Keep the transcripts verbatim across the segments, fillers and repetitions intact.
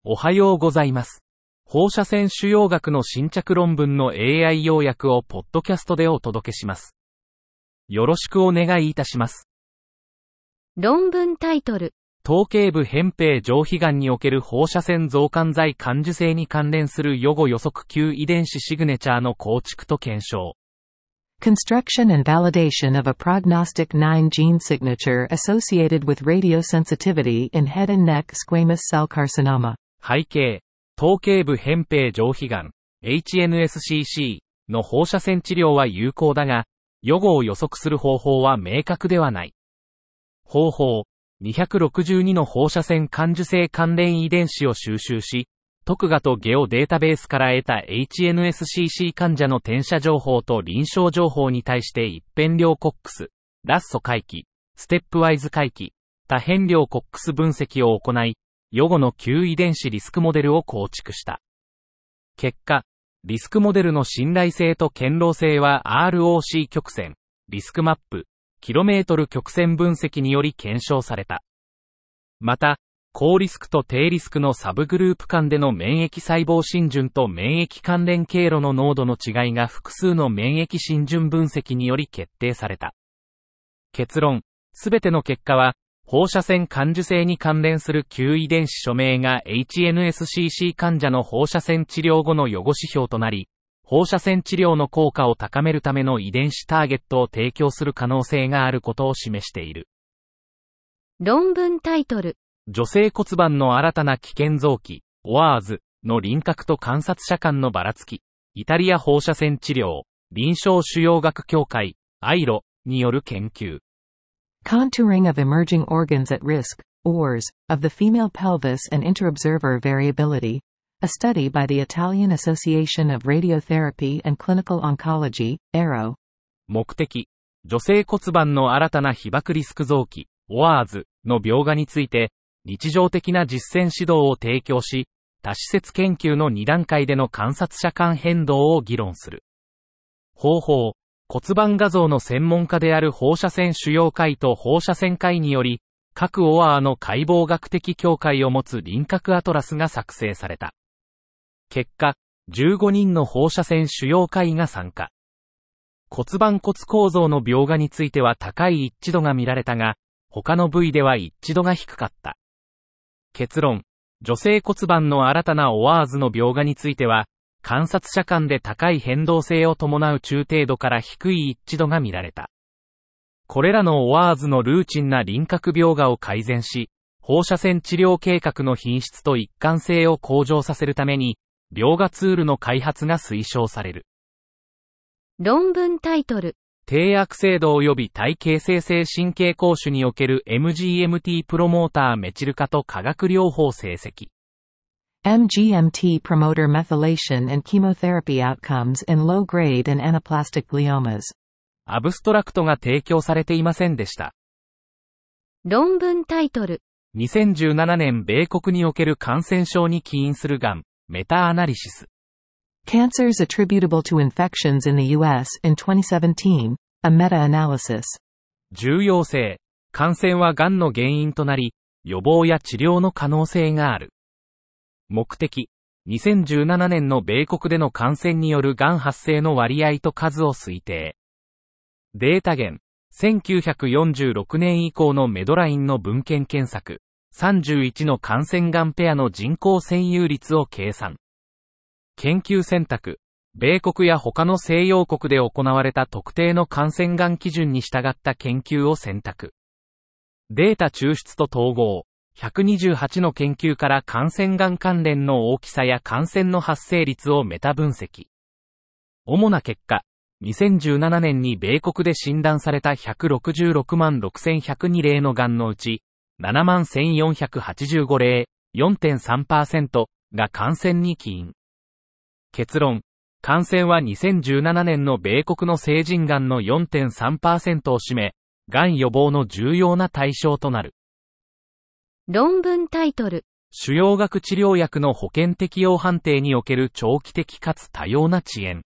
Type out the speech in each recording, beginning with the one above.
おはようございます。放射線腫瘍学の新着論文の エーアイ 要約をポッドキャストでお届けします。よろしくお願いいたします。 論文タイトル。 頭頸部扁平上皮がんにおける放射線増刊剤感受性に関連する予後予測級遺伝子シグネチャーの構築と検証。 Construction and validation of a prognostic nine gene signature associated with radiosensitivity in head and neck squamous cell carcinoma. 背景、頭頸部扁平上皮がん エイチエヌエスシーシー の放射線治療は有効だが、予後を予測する方法は明確ではない。方法、にひゃくろくじゅうにの放射線感受性関連遺伝子を収集し、特画とゲオデータベースから得た エイチエヌエスシーシー 患者の転写情報と臨床情報に対して一辺量コックス、ラッソ回帰、ステップワイズ回帰、多辺量コックス分析を行い、予後の旧遺伝子リスクモデルを構築した。結果、リスクモデルの信頼性と堅牢性は アールオーシー 曲線、リスクマップ、キロメートル曲線分析により検証された。また、高リスクと低リスクのサブグループ間での免疫細胞浸潤と免疫関連経路の濃度の違いが複数の免疫浸潤分析により決定された。結論、すべての結果は、放射線感受性に関連する旧遺伝子署名が エイチエヌエスシーシー 患者の放射線治療後の予後指標となり、放射線治療の効果を高めるための遺伝子ターゲットを提供する可能性があることを示している。 論文タイトル。 女性骨盤の新たな危険臓器、オアーズの輪郭と観察者間のばらつき、イタリア放射線治療、臨床腫瘍学協会、アイロによる研究。 Contouring of emerging organs at risk, O R S, of the female pelvis and interobserver variability, a study by the Italian Association of Radiotherapy and Clinical Oncology,エーアロー。 目的、女性骨盤の新たな被爆リスク臓器、オアーズの描画について、日常的な実践指導を提供し、多施設研究のに段階での観察者間変動を議論する。方法、骨盤画像の専門家である放射線腫瘍会と放射線会により、各オアーの解剖学的境界を持つ輪郭アトラスが作成された。結果、じゅうごにんの放射線腫瘍会が参加。骨盤骨構造の描画については高い一致度が見られたが、他の部位では一致度が低かった。結論、女性骨盤の新たなオアーズの描画については、観察者間で高い変動性を伴う中程度から低い一致度が見られた。これらのオアーズのルーチンな輪郭描画を改善し、放射線治療計画の品質と一貫性を向上させるために、描画ツールの開発が推奨される。 論文タイトル。 低悪性度及び体形成性神経膠腫における エムジーエムティー プロモーターメチル化と化学療法成績。 エムジーエムティー promoter methylation and chemotherapy outcomes in low-grade and anaplastic gliomas。 アブストラクトが提供されていませんでした。 論文タイトル。 にせんじゅうななねん米国における感染症に起因するがん、メタアナリシス。 Cancers attributable to infections in the U S in twenty seventeen, a meta-analysis。 重要性、感染はがんの原因となり、予防や治療の可能性がある。目的、にせんじゅうななねんの米国での感染によるがん発生の割合と数を推定。データ源、せんきゅうひゃくよんじゅうろくねん以降のメドラインの文献検索、さんじゅういちの感染がんペアの人口占有率を計算。研究選択、米国や他の西洋国で行われた特定の感染がん基準に従った研究を選択。データ抽出と統合、ひゃくにじゅうはちの研究から感染がん関連の大きさや感染の発生率をメタ分析。主な結果、にせんじゅうななねんに米国で診断されたひゃくろくじゅうろくまんろくせんひゃくに例のがんのうち、ななまんせんよんひゃくはちじゅうご例、よんてんさんパーセント が感染に起因。結論、感染はにせんじゅうななねんの米国の成人がんの よんてんさんパーセント を占め、がん予防の重要な対象となる。 論文タイトル。 腫瘍学治療薬の保険適用判定における長期的かつ多様な遅延。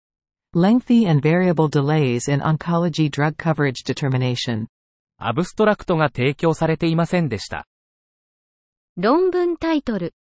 Lengthy and variable delays in oncology drug coverage determination。 アブストラクトが提供されていませんでした。 論文タイトル。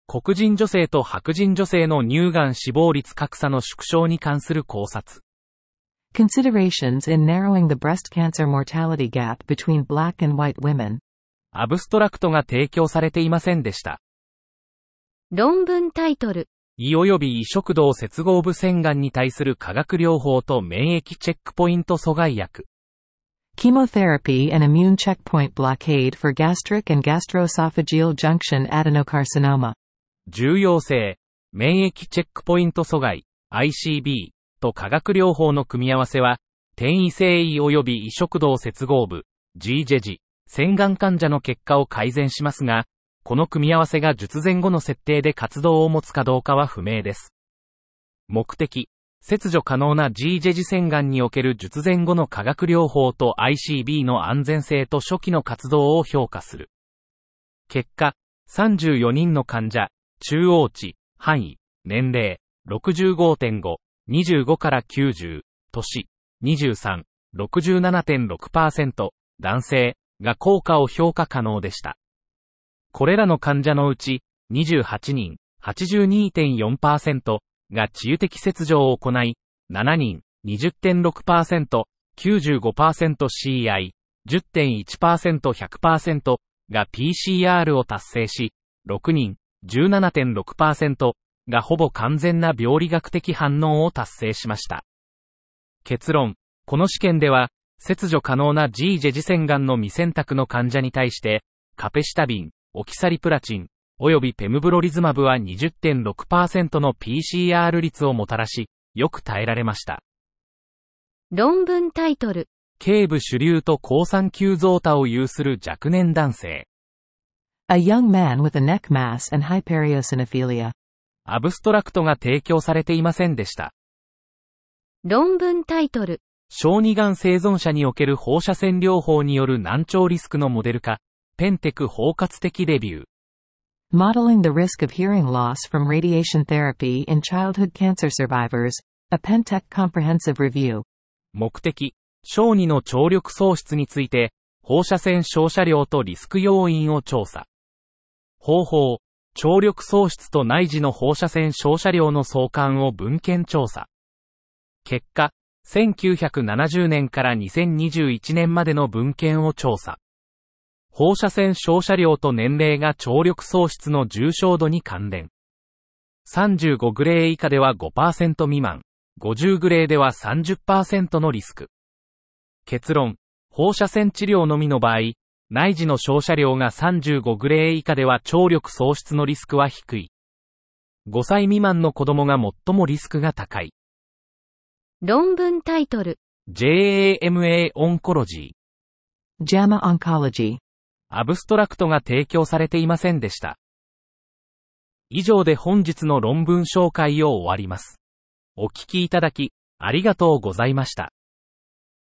黒人女性と白人女性の乳がん死亡率格差の縮小に関する考察。 Considerations in narrowing the breast cancer mortality gap between black and white women. アブストラクトが提供されていませんでした。 論文タイトル。 胃及び胃食道接合部腺がんに対する化学療法と免疫チェックポイント阻害薬。 Chemotherapy and immune checkpoint blockade for gastric and gastroesophageal junction adenocarcinoma. 重要性、免疫チェックポイント阻害、アイシービー と化学療法の組み合わせは、転移性胃及び胃食道接合部、ジージェジ、腺がん患者の結果を改善しますが、この組み合わせが術前後の設定で活動を持つかどうかは不明です。目的、切除可能な ジージェジ 腺がんにおける術前後の化学療法と アイシービー の安全性と初期の活動を評価する。結果、さんじゅうよにんの患者、中央値、範囲、年齢、ろくじゅうごてんご、にじゅうごからきゅうじゅう、年、にじゅうさん、ろくじゅうななてんろくパーセント、男性が効果を評価可能でした。これらの患者のうち、にじゅうはちにん、はちじゅうにてんよんパーセント が治癒的切除を行い、ななにん、にじゅってんろくパーセント、きゅうじゅうごパーセント シーアイ、じゅってんいちパーセント、ひゃくパーセント が ピーシーアール を達成し、ろくにん、じゅうななてんろくパーセント がほぼ完全な病理学的反応を達成しました。結論、この試験では、切除可能な ジージェジ 腺がんの未選択の患者に対して、カペシタビン、オキサリプラチン、およびペムブロリズマブは にじゅってんろくパーセント の ピーシーアール 率をもたらし、よく耐えられました。 論文タイトル。 頸部主流と好酸球増多を有する若年男性。 A young man with a neck mass and hyperiocinophilia. アブストラクトが提供されていませんでした。 論文タイトル。 小児がん生存者における放射線療法による難聴リスクのモデル化、ペンテク包括的レビュー。 Modeling the risk of hearing loss from radiation therapy in childhood cancer survivors, a Pentec comprehensive review. 目的、小児の聴力喪失について、放射線照射量とリスク要因を調査。方法、聴力喪失と内耳の放射線照射量の相関を文献調査。結果、せんきゅうひゃくななじゅうねんからにせんにじゅういちねんまでの文献を調査。放射線照射量と年齢が聴力喪失の重症度に関連。さんじゅうごグレー以下では ごパーセント 未満、ごじゅうグレーでは さんじゅっパーセント のリスク。結論、放射線治療のみの場合、内耳の照射量がさんじゅうごグレー以下では聴力喪失のリスクは低い。ごさい未満の子供が最もリスクが高い。 論文タイトル。 ジェーエーエムエー オンコロジー。 ジャマ Oncology。 アブストラクトが提供されていませんでした。以上で本日の論文紹介を終わります。お聞きいただき、ありがとうございました。